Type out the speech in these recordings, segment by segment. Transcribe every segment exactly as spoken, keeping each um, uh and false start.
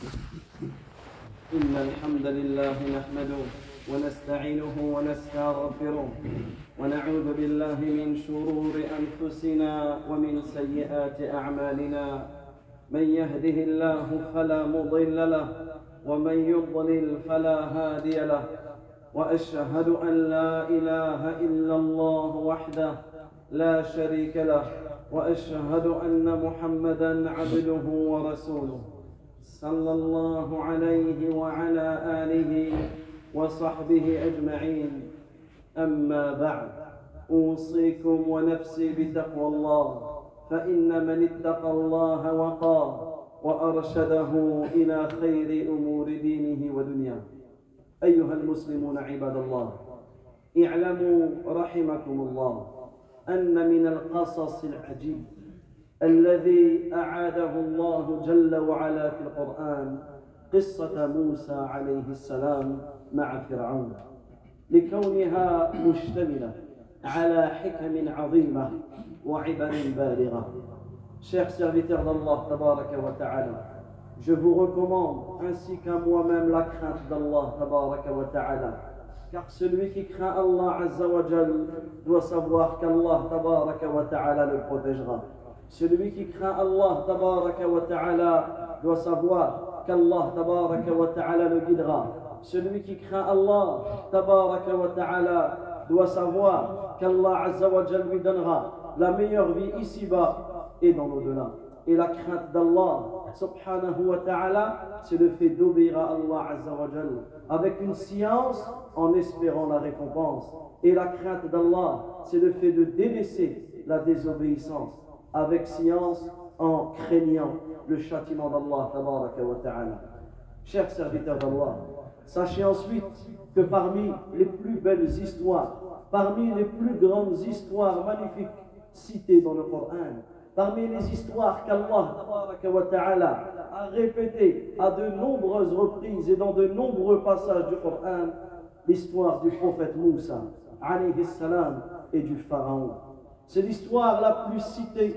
إن الحمد لله نحمده ونستعينه ونستغفره ونعوذ بالله من شرور أنفسنا ومن سيئات أعمالنا. من يهده الله فلا مضل له ومن يضلل فلا هادي له، وأشهد أن لا إله إلا الله وحده لا شريك له، وأشهد أن محمدًا عبده ورسوله صلى الله عليه وعلى آله وصحبه أجمعين. أما بعد، أوصيكم ونفسي بتقوى الله، فإن من اتقى الله وقاه وأرشده إلى خير أمور دينه ودنياه. أيها المسلمون عباد الله، اعلموا رحمكم الله أن من القصص العجيب الذي أعاده الله جل وعلا في القرآن قصة موسى عليه السلام مع فرعون، لكونها مشتملة على حكم عظيمة وعبر بالغة. Chers serviteurs d'Allah tabaraka wa ta'ala, je vous recommande ainsi qu'à moi-même la crainte d'Allah tabaraka wa ta'ala, car celui qui craint Allah azza wa jal doit savoir qu'Allah tabaraka wa ta'ala le protégera. Celui qui craint Allah tabaraka wa ta'ala doit savoir qu'Allah tabaraka wa ta'ala le guidera. Celui qui craint Allah tabaraka wa ta'ala doit savoir qu'Allah azza wa jal lui donnera la meilleure vie ici-bas et dans l'au-delà. Et la crainte d'Allah subhanahu wa ta'ala, c'est le fait d'obéir à Allah azza wa jal avec une science en espérant la récompense. Et la crainte d'Allah, c'est le fait de délaisser la désobéissance avec science en craignant le châtiment d'Allah tabaraka wa ta'ala. Chers serviteurs d'Allah, sachez ensuite que parmi les plus belles histoires, parmi les plus grandes histoires magnifiques citées dans le Coran, parmi les histoires qu'Allah tabaraka wa ta'ala a répétées à de nombreuses reprises et dans de nombreux passages du Coran, l'histoire du prophète Moussa alayhi salam et du pharaon. C'est l'histoire la plus citée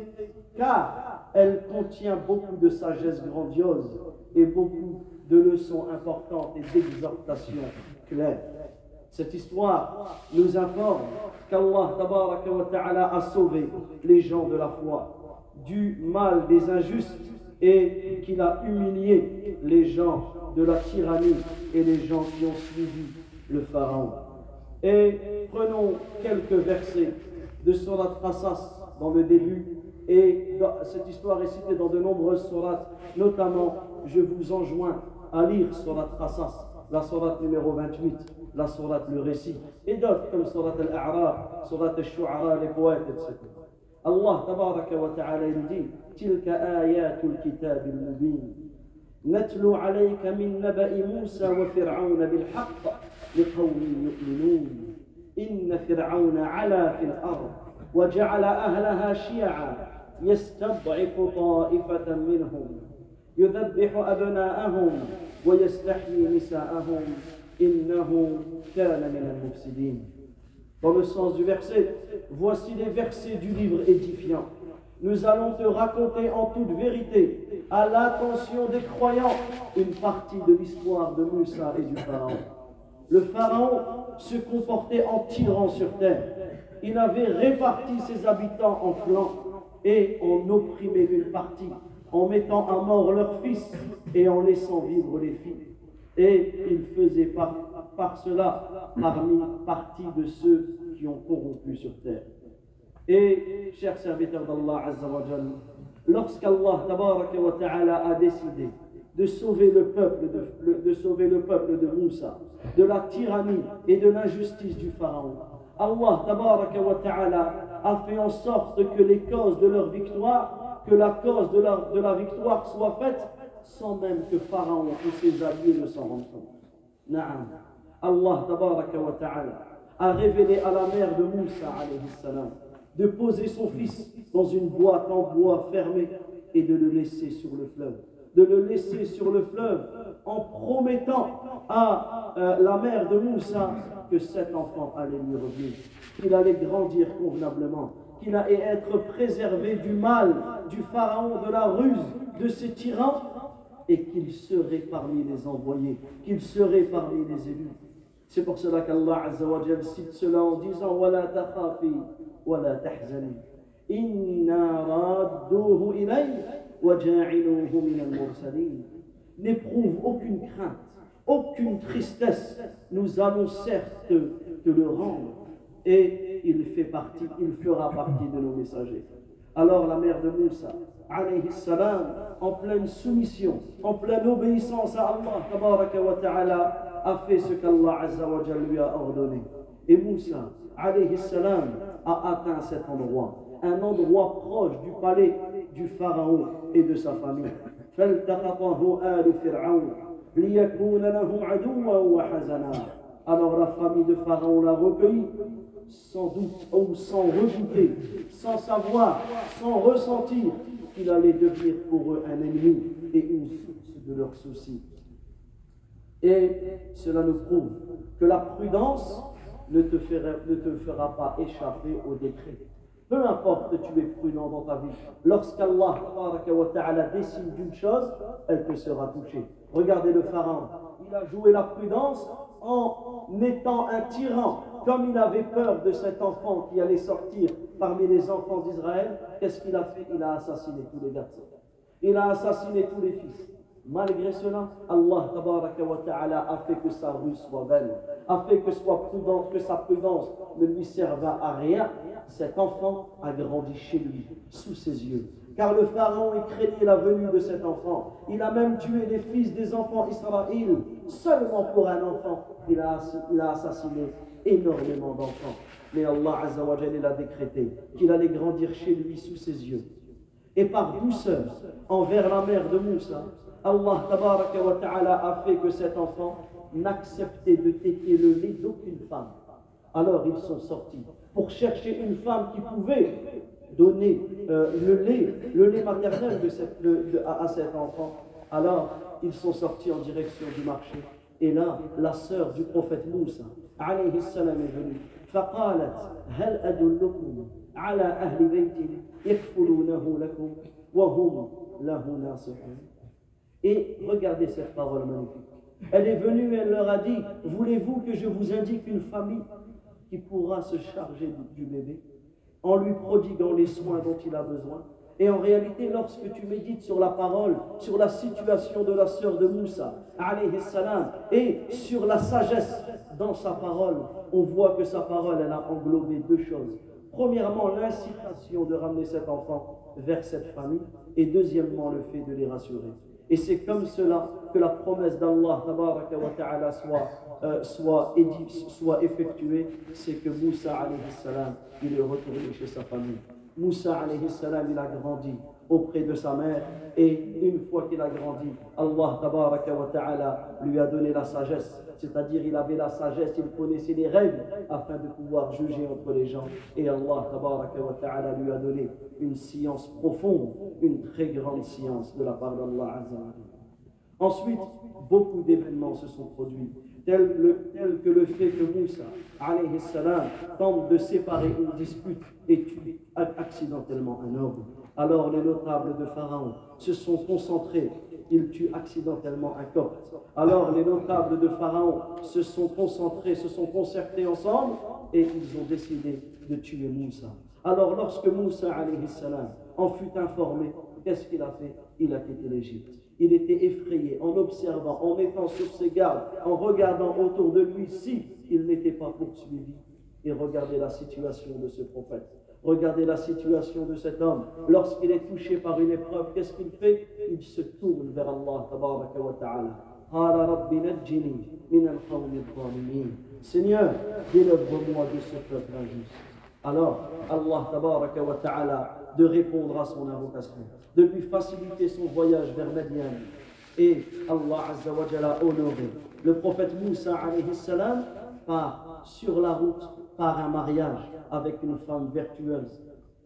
car elle contient beaucoup de sagesse grandiose et beaucoup de leçons importantes et d'exhortations claires. Cette histoire nous informe qu'Allah tabaraka wa ta'ala a sauvé les gens de la foi du mal des injustes et qu'il a humilié les gens de la tyrannie et les gens qui ont suivi le pharaon. Et prenons quelques versets de Surat Qasas dans le début, et cette histoire est citée dans de nombreuses sourates, notamment je vous enjoins à lire Surat Qasas, la sourate numéro vingt-huit, la sourate le récit, et d'autres comme Surat Al-A'raf, Surat Al-Shu'ara, les poètes, et cetera. Allah tabaraka wa ta'ala il dit Tilka ayatul kitab al-mubin natlu alayka min naba'i Musa wa fir'auna bil haqq liqawmin yu'minun inna fir'auna 'ala fil ard wa ja'ala ahlaha shi'a yastad'ifu ta'ifatan minhum yudhabbihu abna'ahum wa yastahyi nisa'ahum innahu kana min al-mufsidin. Dans le sens du verset, voici les versets du livre édifiant. Nous allons te raconter en toute vérité, à l'attention des croyants, une partie de l'histoire de Moussa et du pharaon. Le pharaon se comportait en tyran sur terre. Il avait réparti ses habitants en clans et en opprimait une partie, en mettant à mort leurs fils et en laissant vivre les filles. Et il faisait par, par cela parmi partie de ceux qui ont corrompu sur terre. Et, chers serviteurs d'Allah Azza wa Jal, lorsqu'Allah tabaraka wa ta'ala a décidé de sauver le peuple de, de sauver le peuple de Moussa de la tyrannie et de l'injustice du pharaon, Allah tabaraka wa ta'ala a fait en sorte que les causes de leur victoire, que la cause de la, de la victoire soit faite sans même que Pharaon ou ses alliés ne s'en rendent compte. Naam. Allah tabaraka wa ta'ala a révélé à la mère de Moussa alayhi salam de poser son fils dans une boîte en bois fermée et de le laisser sur le fleuve. De le laisser sur le fleuve en promettant à euh, la mère de Moussa que cet enfant allait lui revenir, qu'il allait grandir convenablement, qu'il allait être préservé du mal, du pharaon, de la ruse, de ses tyrans, et qu'il serait parmi les envoyés, qu'il serait parmi les élus. C'est pour cela qu'Allah Azza wa Jal cite cela en disant وَلَا تَخَافِي وَلَا تَحْزَنِي إِنَّا رَادُّوهُ إِلَيْكَ وَجَاعِلُوهُ مِنَ الْمُرْسَلِينَ. N'éprouve aucune crainte, aucune tristesse. Nous allons certes te, te le rendre et il fait partie, il fera partie de nos messagers. Alors la mère de Moussa, alayhi salam, en pleine soumission, en pleine obéissance à Allah, tabaraka wa ta'ala, a fait ce qu'Allah Azza wa Jalla lui a ordonné. Et Moussa, alayhi salam, a atteint cet endroit, un endroit proche du palais du pharaon et de sa famille. فَالْتَقَطَهُ آلُ فِرْعَوْنَ لِيَكُونَ لَهُمْ عَدُوًّا وَحَزَنًا. Alors la famille de Pharaon l'a recueilli, sans doute ou sans redouter, sans savoir, sans ressentir qu'il allait devenir pour eux un ennemi et une source de leurs soucis. Et cela nous prouve que la prudence ne te fera, ne te fera pas échapper au décret. Peu importe que tu es prudent dans ta vie, lorsqu'Allah wa ta'ala décide d'une chose, elle te sera touchée. Regardez le pharaon, il a joué la prudence en étant un tyran. Comme il avait peur de cet enfant qui allait sortir parmi les enfants d'Israël, qu'est-ce qu'il a fait? Il a assassiné tous les garçons. Il a assassiné tous les fils. Malgré cela, Allah tabaraka wa ta'ala a fait que sa ruse soit belle, a fait que, soit prudent, que sa prudence ne lui serve à rien. Cet enfant a grandi chez lui, sous ses yeux. Car le pharaon craignait la venue de cet enfant. Il a même tué les fils des enfants Israël. Seulement pour un enfant, il a, il a assassiné énormément d'enfants. Mais Allah Azza wa Jalla a décrété qu'il allait grandir chez lui, sous ses yeux. Et par douceur envers la mère de Moussa, Allah tabaraka wa ta'ala a fait que cet enfant n'acceptait de téter le lait d'aucune femme. Alors ils sont sortis pour chercher une femme qui pouvait donner euh, le lait, le lait maternel de cette, de, de, à, à cet enfant. Alors ils sont sortis en direction du marché. Et là, la sœur du prophète Moussa, alayhi salam, est venue. فقالت هل أدلكم على أهل بيت يكفلونه لكم وهم له ناصحون. Et regardez cette parole magnifique. Elle est venue et elle leur a dit, voulez-vous que je vous indique une famille qui pourra se charger du bébé en lui prodiguant les soins dont il a besoin? Et en réalité, lorsque tu médites sur la parole, sur la situation de la sœur de Moussa, alayhi salam, et sur la sagesse dans sa parole, on voit que sa parole, elle a englobé deux choses. Premièrement, l'incitation de ramener cet enfant vers cette famille, et deuxièmement, le fait de les rassurer. Et c'est comme cela que la promesse d'Allah tabaraka wa ta'ala soit, euh, soit, édit, soit effectuée, c'est que Moussa alayhi salam, il est retourné chez sa famille. Moussa alayhi salam, il a grandi auprès de sa mère, et une fois qu'il a grandi, Allah tabaraka wa ta'ala lui a donné la sagesse, c'est-à-dire il avait la sagesse, il connaissait les règles afin de pouvoir juger entre les gens, et Allah tabaraka wa ta'ala lui a donné une science profonde, une très grande science de la part d'Allah Azza wa Jalla. Ensuite, beaucoup d'événements se sont produits, tel, le, tel que le fait que Moussa alayhi salam tente de séparer une dispute et tue accidentellement un homme. Alors les notables de Pharaon se sont concentrés, ils tuent accidentellement un copte. Alors les notables de Pharaon se sont concentrés, se sont concertés ensemble et ils ont décidé de tuer Moussa. Alors lorsque Moussa alayhi salam en fut informé, qu'est-ce qu'il a fait? Il a quitté l'Égypte. Il était effrayé en observant, en étant sur ses gardes, en regardant autour de lui si il n'était pas poursuivi. Et regardez la situation de ce prophète. Regardez la situation de cet homme. Lorsqu'il est touché par une épreuve, qu'est-ce qu'il fait? Il se tourne vers Allah tabaraka wa ta'ala. Qala rabbi najjini min al-qawmi al-zalimin. Seigneur, délivre-moi de ce peuple injuste. Alors, Allah tabaraka wa ta'ala de répondre à son invocation, de lui faciliter son voyage vers Madian. Et Allah Azza wa Jalla a honoré le prophète Moussa alayhi salam par, sur la route par un mariage avec une femme vertueuse,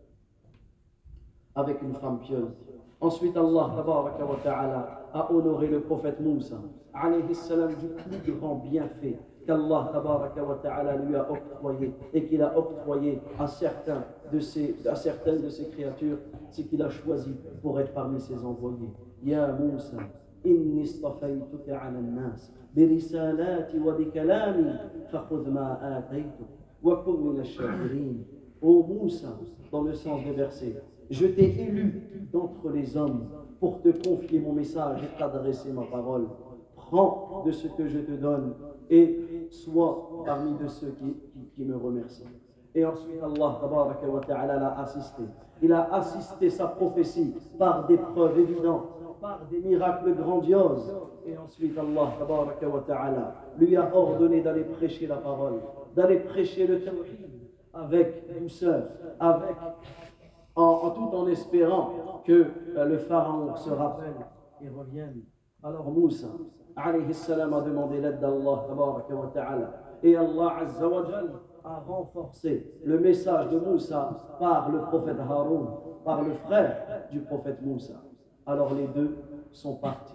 avec une femme pieuse. Ensuite, Allah tabaraka wa ta'ala a honoré le prophète Moussa alayhi salam du plus grand bienfait qu'Allah tabaraka wa ta'ala lui a octroyé et qu'il a octroyé à certains de ses, à certaines de ses créatures, c'est qu'il a choisi pour être parmi ses envoyés. Ya Moussa, إني اصطفيتك على الناس برسالاتي وبكلامي فخذ ما آتيتك وكن من الشاكرين. Ô Moussa, dans le sens des versets, je t'ai élu d'entre les hommes pour te confier mon message et t'adresser ma parole. Prends de ce que je te donne et sois parmi de ceux qui, qui, qui me remercient. Et ensuite Allah tabaraka wa ta'ala l'a assisté. Il a assisté sa prophétie par des preuves évidentes, par des miracles grandioses. Et ensuite Allah tabaraka wa ta'ala lui a ordonné d'aller prêcher la parole, d'aller prêcher le tawhid avec douceur, avec, en, en tout en espérant que euh, le pharaon se rappelle et revienne. Alors Moussa alayhi salam a demandé l'aide d'Allah tabaraka wa ta'ala. Et Allah azza wa jal a renforcé le message de Moussa par le prophète Haroun, par le frère du prophète Moussa. Alors les deux sont partis.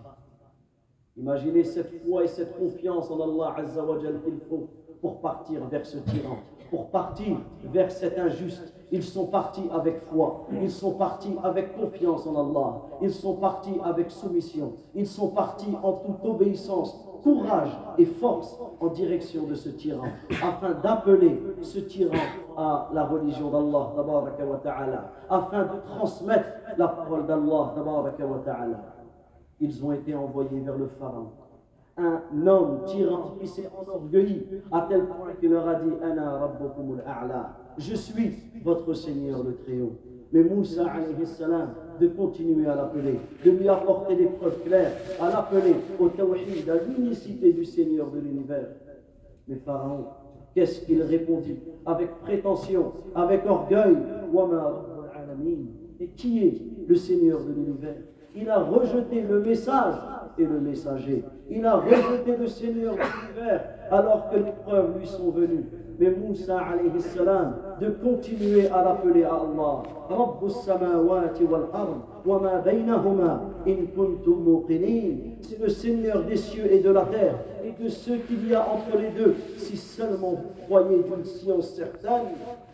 Imaginez cette foi et cette confiance en Allah azza wa jal qu'il faut pour partir vers ce tyran, pour partir vers cet injuste. Ils sont partis avec foi, ils sont partis avec confiance en Allah, ils sont partis avec soumission, ils sont partis en toute obéissance, courage et force en direction de ce tyran, afin d'appeler ce tyran à la religion d'Allah tabaraka wa ta'ala, afin de transmettre la parole d'Allah tabaraka wa ta'ala. Ils ont été envoyés vers le pharaon, un homme tyran qui s'est enorgueilli à tel point qu'il leur a dit Ana rabbukumul a'la, je suis votre Seigneur le Très-Haut. Mais Moussa alayhi salam de continuer à l'appeler, de lui apporter des preuves claires, à l'appeler au tawhid, à l'unicité du Seigneur de l'univers. Mais Pharaon, qu'est-ce qu'il répondit avec prétention, avec orgueil? Wama rabbul alamin. Et qui est le Seigneur de l'univers? Il a rejeté le message et le messager. Il a rejeté le Seigneur de l'univers alors que les preuves lui sont venues. Mais Moussa alayhi salam de continuer à l'appeler à Allah. Rabbus samawati wal ard wa ma baynahuma in kuntum muqinin. C'est le Seigneur des cieux et de la terre et de ce qu'il y a entre les deux, si seulement vous croyez d'une science certaine.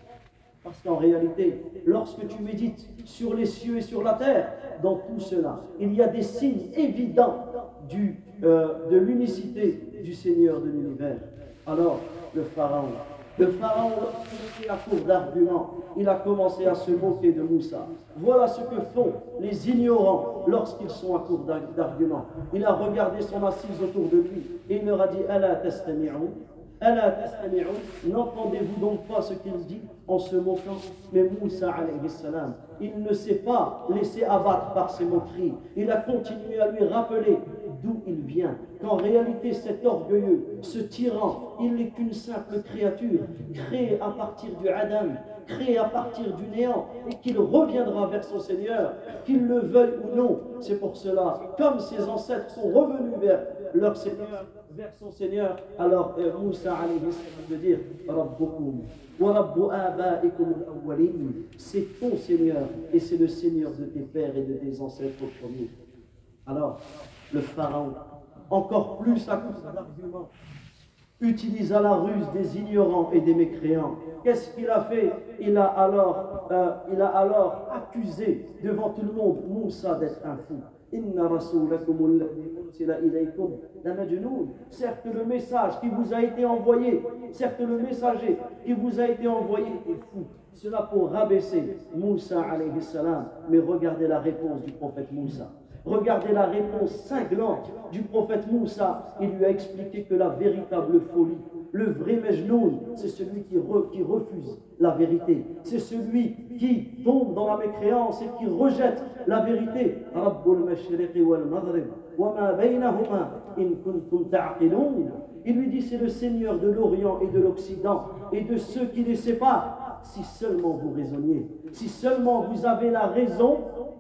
Parce qu'en réalité, lorsque tu médites sur les cieux et sur la terre, dans tout cela, il y a des signes évidents du, euh, de l'unicité du Seigneur de l'univers. Alors, le pharaon, le pharaon, lorsqu'il était à court d'arguments, il a commencé à se moquer de Moussa. Voilà ce que font les ignorants lorsqu'ils sont à court d'arguments. Il a regardé son assise autour de lui et il leur a dit « Ala tastami'un » Ala tastami'un, n'entendez-vous donc pas ce qu'il dit en se moquant? Mais Moussa alayhi salam, il ne s'est pas laissé abattre par ses moqueries. Il a continué à lui rappeler d'où il vient, qu'en réalité cet orgueilleux, ce tyran, il n'est qu'une simple créature créée à partir du Adam, créée à partir du néant, et qu'il reviendra vers son Seigneur, qu'il le veuille ou non. C'est pour cela, comme ses ancêtres sont revenus vers leur Seigneur, vers son Seigneur, alors euh, Moussa alayhi salam de dire Rabbukum wa rabbu abaikum al-awwalin, c'est ton Seigneur et c'est le Seigneur de tes pères et de tes ancêtres premiers. Alors le pharaon, encore plus à cause d'arguments, utilisa la ruse des ignorants et des mécréants. Qu'est-ce qu'il a fait? Il a alors, euh, il a alors accusé devant tout le monde Moussa d'être un fou. Inna rasulakum alladhi ursila ilaykum la majnoun. Certes le message qui vous a été envoyé, certes le messager qui vous a été envoyé est fou. Cela pour rabaisser Moussa alayhi salam. Mais regardez la réponse du prophète Moussa. Regardez la réponse cinglante du prophète Moussa. Il lui a expliqué que la véritable folie, le vrai Majnoun, c'est celui qui, re, qui refuse la vérité. C'est celui qui tombe dans la mécréance et qui rejette la vérité. Rabbul mashriqi wal maghrib wa ma baynahuma in kuntum ta'qilun. Il lui dit c'est le Seigneur de l'Orient et de l'Occident et de ceux qui les séparent. Si seulement vous raisonniez, si seulement vous avez la raison,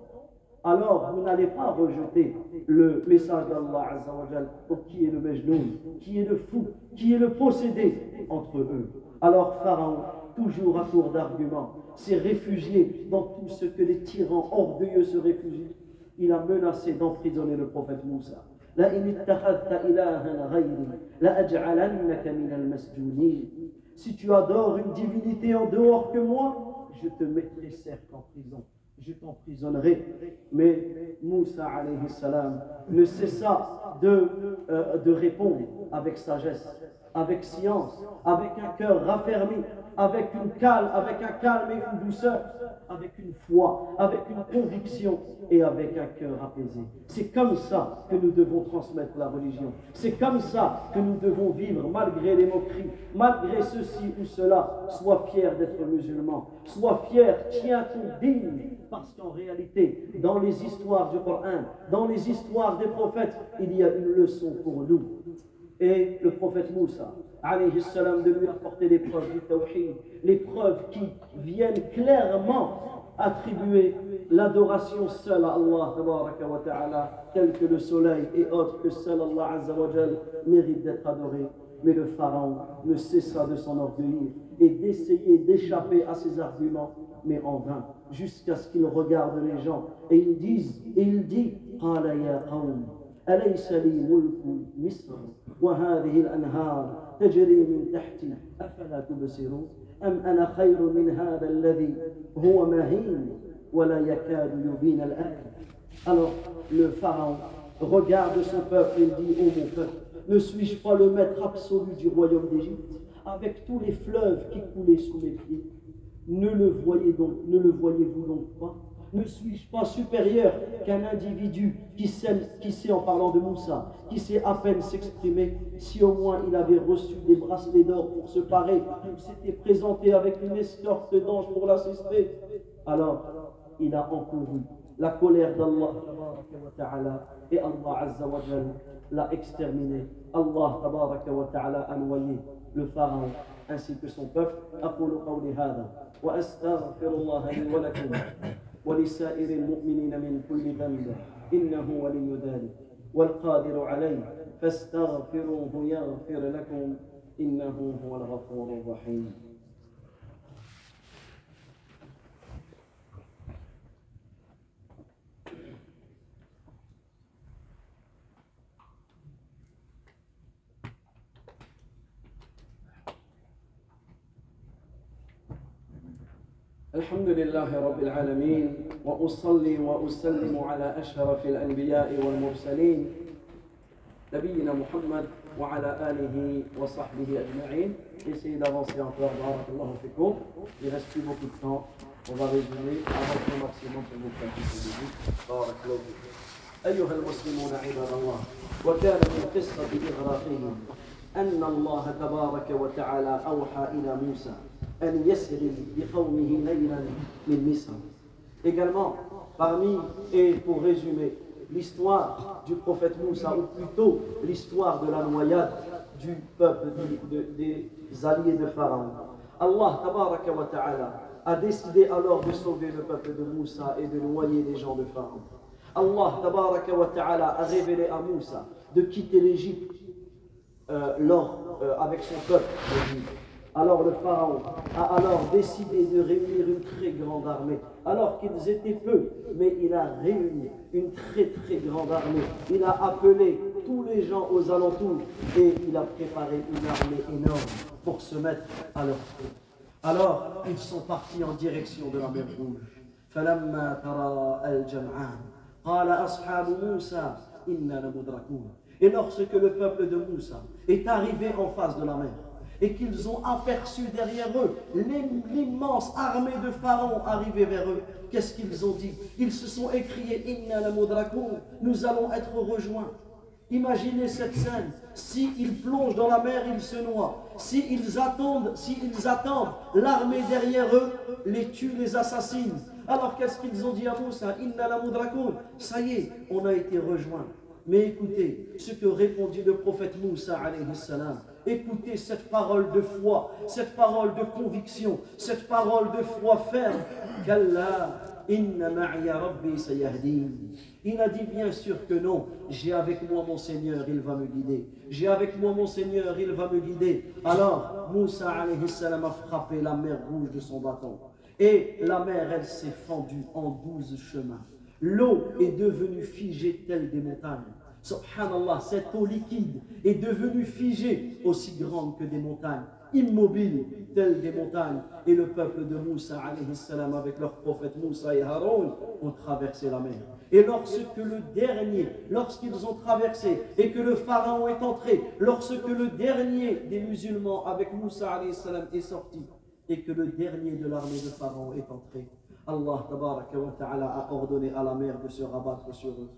alors vous n'allez pas rejeter le message d'Allah Azza wa Jal pour qui est le Majnoun, qui est le fou, qui est le possédé entre eux. Alors Pharaon, toujours à court d'arguments, s'est réfugié dans tout ce que les tyrans orgueilleux se réfugient. Il a menacé d'emprisonner le prophète Moussa. La in ittakhadhta ilahan ghayri la aj'alannaka min al-masjunin. Si tu adores une divinité en dehors que moi, je te mettrai certes en prison. je t'emprisonnerai. Mais Moussa alayhi salam ne cessa de, euh, de répondre avec sagesse, avec science, avec un cœur raffermi, avec une calme, avec un calme et une douceur, avec une foi, avec une conviction et avec un cœur apaisé. C'est comme ça que nous devons transmettre la religion. C'est comme ça que nous devons vivre malgré les moqueries, malgré ceci ou cela. Sois fier d'être musulman, sois fier, tiens-toi digne, parce qu'en réalité, dans les histoires du Coran, dans les histoires des prophètes, il y a une leçon pour nous. Et le prophète Moussa, alayhi salam, de lui apporter les preuves du tawhid, les preuves qui viennent clairement attribuer l'adoration seule à Allah tabaraka wa ta'ala, tel que le soleil et autres que seul Allah azza wa jal mérite d'être adoré. Mais le pharaon ne cessa de s'enorgueillir et d'essayer d'échapper à ses arguments, mais en vain, jusqu'à ce qu'il regarde les gens et il dise, et il dit, qala ya qawm, أليس لي ملك مصر وهذه الأنهار تجري من تحتي أفلا تبصرون أم أنا خير من هذا الذي هو مهين ولا يكاد يبين الآية. Alors le pharaon regarde son peuple et dit, ô mon peuple, ne suis-je pas le maître absolu du royaume d'Égypte, avec tous les fleuves qui coulaient sous mes pieds? Ne le voyez donc, ne le voyez-vous donc pas? Ne suis-je pas supérieur qu'un individu qui sait, qui sait, en parlant de Moussa, qui sait à peine s'exprimer? Si au moins il avait reçu des bracelets d'or pour se parer, il s'était présenté avec une escorte d'anges pour l'assister, alors il a encouru la colère d'Allah et Allah Azza wa Jal l'a exterminé. Allah tabaraka wa ta'ala a noyé le pharaon ainsi que son peuple. أقول قولي هذا وأستغفر الله لي ولكم ولسائر المؤمنين من كل ذنب إنه ولي ذلك والقادر عليه فاستغفروه يغفر لكم إنه هو الغفور الرحيم. الحمد لله رب العالمين وأصلي وأسلم على أشرف الأنبياء والمرسلين نبينا محمد وعلى آله وصحبه أجمعين. Essayez d'avancer encore, barakallahu fikum. Il reste plus beaucoup de temps. On va résumer, avancer au maximum pour vous faire tout le début. barakallahu fikum. أيها المسلمون عباد الله، وكان من قصة إغراقهم أن الله تبارك وتعالى أوحى إلى موسى أن يسري بقومه ليلا من مصر. Également, parmi, et pour résumer, l'histoire du prophète Moussa, ou plutôt l'histoire de la noyade du peuple, de, de, des alliés de Pharaon. Allah tabaraka wa ta'ala a décidé alors de sauver le peuple de Moussa et de noyer les gens de Pharaon. Allah tabaraka wa ta'ala a révélé à Moussa de quitter l'Égypte euh, lors, euh, avec son peuple l'Égypte. Alors le pharaon a alors décidé de réunir une très grande armée, alors qu'ils étaient peu, mais il a réuni une très très grande armée. Il a appelé tous les gens aux alentours et il a préparé une armée énorme pour se mettre à leur feu. Alors ils sont partis en direction de la mer Rouge. فَلَمَّا تَرَى الْجَمْعَانِ قَالَ أَصْحَابُ مُوسَى إِنَّا لَمُدْرَكُونَ. Et lorsque le peuple de Moussa est arrivé en face de la mer, et qu'ils ont aperçu derrière eux l'immense armée de Pharaon arriver vers eux, qu'est-ce qu'ils ont dit? Ils se sont écriés, Inna la mudrakoun, nous allons être rejoints. Imaginez cette scène, s'ils plongent dans la mer, ils se noient. S'ils attendent, s'ils attendent, l'armée derrière eux les tue, les assassine. Alors qu'est-ce qu'ils ont dit à Moussa? Inna la mudrakoun, ça y est, on a été rejoints. Mais écoutez ce que répondit le prophète Moussa alayhi salam. Écoutez cette parole de foi, cette parole de conviction, cette parole de foi ferme. Kalla inna ma'iya rabbi sayahdin. Il a dit bien sûr que non, j'ai avec moi mon Seigneur, il va me guider. J'ai avec moi mon Seigneur, il va me guider. Alors Moussa alayhi salam a frappé la mer Rouge de son bâton. Et la mer, elle s'est fendue en douze chemins. L'eau est devenue figée telle des montagnes. Subhanallah, cette eau liquide est devenue figée aussi grande que des montagnes. immobiles, tels des montagnes. Et le peuple de Moussa, alayhi salam, avec leurs prophètes Moussa et Haroun, ont traversé la mer. Et lorsque le dernier, lorsqu'ils ont traversé et que le pharaon est entré, lorsque le dernier des musulmans avec Moussa, alayhi salam, est sorti, et que le dernier de l'armée de pharaon est entré, Allah tabaraka wa ta'ala a ordonné à la mer de se rabattre sur eux.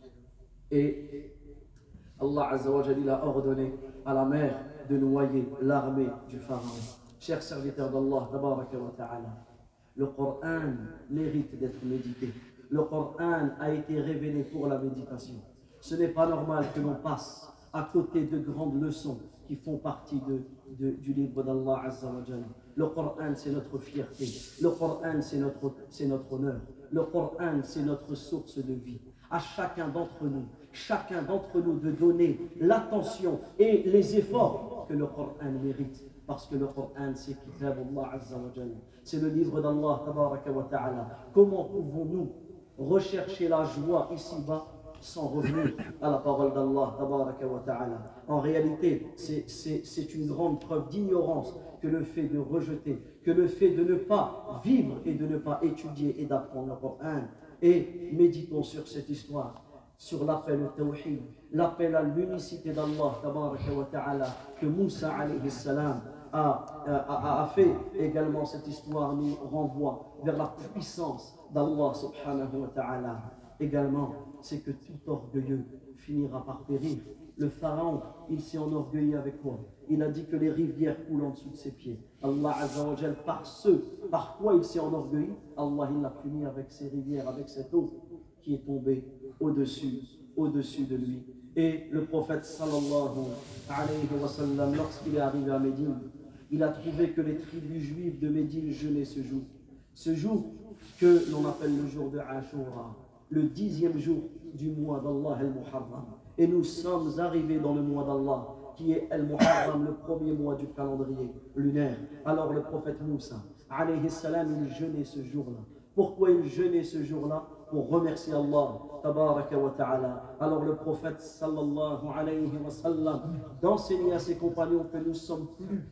Et Allah azza wa jalla a ordonné à la mer de noyer l'armée du pharaon. Chers serviteurs d'Allah tabaraka wa ta'ala, le Coran mérite d'être médité. Le Coran a été révélé pour la méditation. Ce n'est pas normal que l'on passe à côté de grandes leçons qui font partie de, de, du livre d'Allah azza wa jalla. Le Coran, c'est notre fierté. Le Coran, c'est notre, c'est notre honneur. Le Coran, c'est notre source de vie. À chacun d'entre nous, chacun d'entre nous de donner l'attention et les efforts que le Coran mérite. Parce que le Coran, c'est Kitab Allah azza wa jalla. C'est le livre d'Allah tabaraka wa ta'ala. Comment pouvons-nous rechercher la joie ici-bas sans revenir à la parole d'Allah tabaraka wa ta'ala? En réalité, c'est, c'est, c'est une grande preuve d'ignorance que le fait de rejeter, que le fait de ne pas vivre et de ne pas étudier et d'apprendre le Coran. Et méditons sur cette histoire, sur l'appel au tawhid, l'appel à l'unicité d'Allah tabaraka wa ta'ala, que Moussa alayhi salam a, a, a fait. Également, cette histoire nous renvoie vers la puissance d'Allah subhanahu wa ta'ala. Également, c'est que tout orgueilleux finira par périr. Le pharaon, il s'est enorgueilli avec quoi? Il a dit que les rivières coulent en dessous de ses pieds. Allah azza wa jal, par ce, par quoi il s'est enorgueilli, Allah il l'a puni avec ces rivières, avec cette eau qui est tombée au-dessus, au-dessus de lui. Et le prophète sallallahu alayhi wa sallam, lorsqu'il est arrivé à Médine, il a trouvé que les tribus juives de Médine jeûnaient ce jour. Ce jour que l'on appelle le jour de Ashura, le dixième jour du mois d'Allah al-Muharram. Et nous sommes arrivés dans le mois d'Allah, qui est al-Muharram, le premier mois du calendrier lunaire. Alors le prophète Moussa, alayhi salam, il jeûnait ce jour-là. Pourquoi il jeûnait ce jour-là? Pour remercier Allah, tabaraka wa ta'ala. Alors le prophète, sallallahu alayhi wa sallam, d'enseigner à ses compagnons que nous sommes plus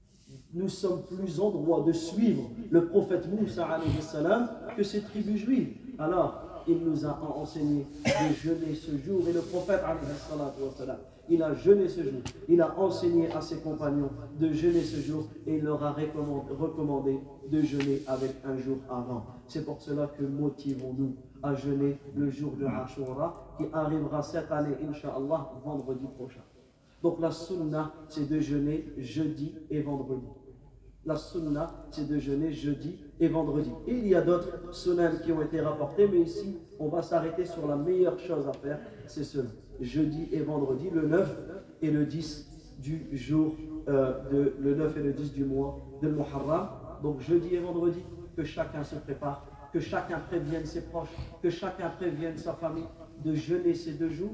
nous sommes plus en droit de suivre le prophète Moussa alayhi salam que ces tribus juives. Alors, il nous a enseigné de jeûner ce jour. Et le prophète alayhi salam, il a jeûné ce jour. Il a enseigné à ses compagnons de jeûner ce jour et il leur a recommandé de jeûner avec un jour avant. C'est pour cela que motivons-nous à jeûner le jour de Ashura qui arrivera cette année, Inch'Allah, vendredi prochain. Donc la sunna, c'est de jeûner jeudi et vendredi. La sunna, c'est de jeûner jeudi et vendredi. Et il y a d'autres sunnahs qui ont été rapportés, mais ici, on va s'arrêter sur la meilleure chose à faire, c'est cela. Jeudi et vendredi, le neuf et le dix du jour, euh, de, le neuf et le dix du mois de Muharram. Donc jeudi et vendredi, que chacun se prépare, que chacun prévienne ses proches, que chacun prévienne sa famille de jeûner ces deux jours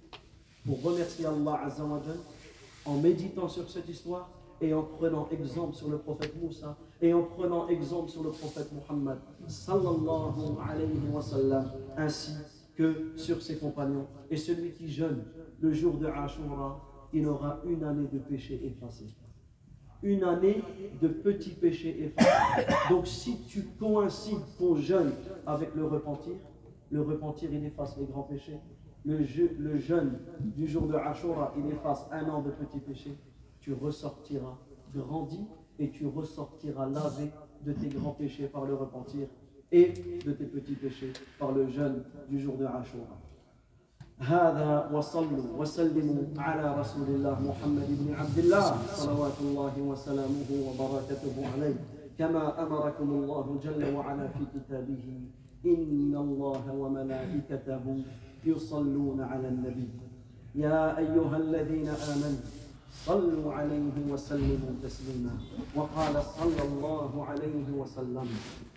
pour remercier Allah azza wa jal, en méditant sur cette histoire et en prenant exemple sur le prophète Moussa et en prenant exemple sur le prophète Muhammad sallallahu alayhi wa sallam, ainsi que sur ses compagnons. Et celui qui jeûne le jour de Ashura, il aura une année de péché effacé. Une année de petits péchés effacés. Donc si tu coïncides ton jeûne avec le repentir, le repentir il efface les grands péchés. Le, je, le jeûne du jour de Ashura, il efface un an de petits péchés. Tu ressortiras grandi et tu ressortiras lavé de tes grands péchés par le repentir et de tes petits péchés par le jeûne du jour de Ashura. هذا وصلوا وسلموا على رسول الله محمد بن عبد الله صلوات الله وسلامه وبركاته عليه كما أمركم الله جل وعلا في كتابه إن الله وملائكته يصلون على النبي يا أيها الذين آمنوا صلوا عليه وسلموا تسليما وقال صلى الله عليه وسلم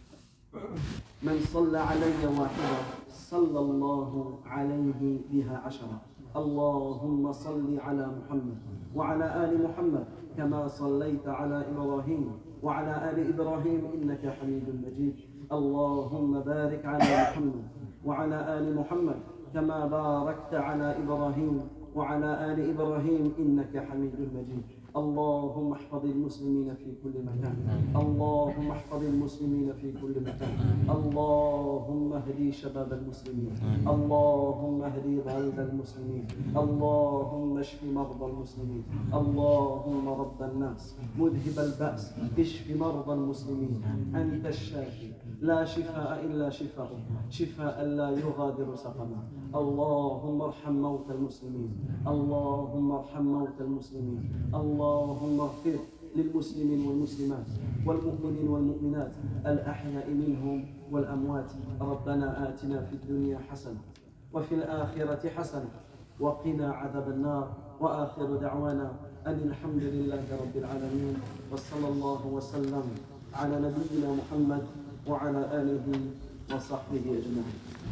من صلى علي واحدة صلى الله عليه بها عشرة اللهم صل على محمد وعلى آل محمد كما صليت على إبراهيم وعلى آل إبراهيم إنك حميد مجيد اللهم بارك على محمد وعلى آل محمد كما باركت على إبراهيم وعلى آل إبراهيم إنك حميد مجيد اللهم احفظ المسلمين في كل مكان، اللهم احفظ المسلمين في كل مكان، اللهم اهدي شباب المسلمين، اللهم اهدي ضال المسلمين، اللهم اشف مرضى المسلمين، اللهم رب الناس مذهب البأس اشف مرضى المسلمين، أنت الشافي لا شفاء إلا شفاؤك، شفاء لا يغادر سقما. اللهم ارحم موتى المسلمين، اللهم ارحم موتى المسلمين، اللهم اغفر للمسلمين والمسلمات والمؤمنين والمؤمنات الأحياء منهم والأموات. ربنا آتنا في الدنيا حسنة وفي الآخرة حسنة وقنا عذاب النار. وآخر دعوانا أن الحمد لله رب العالمين، وصلى الله وسلم على نبينا محمد وعلى آله وصحبه أجمعين.